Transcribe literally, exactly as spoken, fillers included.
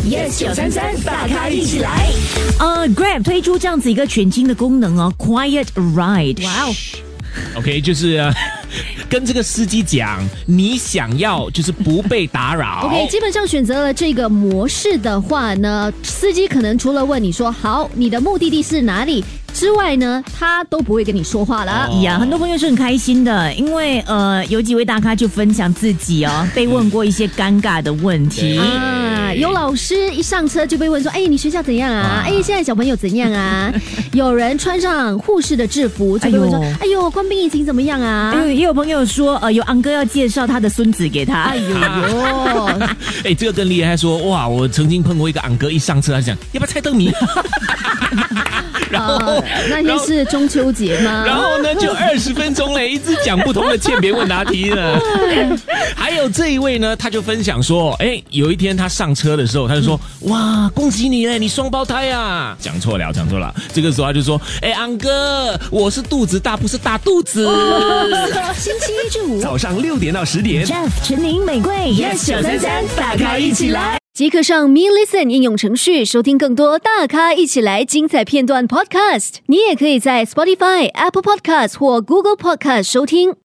Yes 九三三，大咖一起来。 呃 ，Grab 推出这样子一个全新的功能哦 ，Quiet Ride。 哇哦 OK， 就是、呃、跟这个司机讲，你想要就是不被打扰。 OK， 基本上选择了这个模式的话呢，司机可能除了问你说好，你的目的地是哪里之外呢，他都不会跟你说话了。 哦、呀，很多朋友是很开心的，因为呃，有几位大咖就分享自己哦，被问过一些尴尬的问题啊。有老师一上车就被问说：“哎，你学校怎样啊？哎，现在小朋友怎样啊？”有人穿上护士的制服就被问说：“哎呦，官兵疫情怎么样啊？” 哎，也有朋友说，呃，有昂哥要介绍他的孙子给他。 哎呦呦， 哎，这个更厉害，他说：“哇，我曾经碰过一个昂哥，一上车他讲要不要猜灯谜。”然后、 呃、那天是中秋节吗？ 然后呢，就二十分钟嘞，一直讲不同的欠别问答题呢。还有这一位呢，他就分享说，哎，有一天他上车的时候，他就说，嗯、哇，恭喜你嘞，你双胞胎啊！讲错了，讲错了。这个时候他就说，哎，昂哥，我是肚子大，不是大肚子。 哦、星期一至五早上六点到十点 ，Jeff 陈宁玫瑰 ，Yes 九三三，大咖一起来。即刻上 Me Listen 应用程序收听更多大咖一起来精彩片段 Podcast。你也可以在 Spotify、Apple Podcast 或 Google Podcast 收听。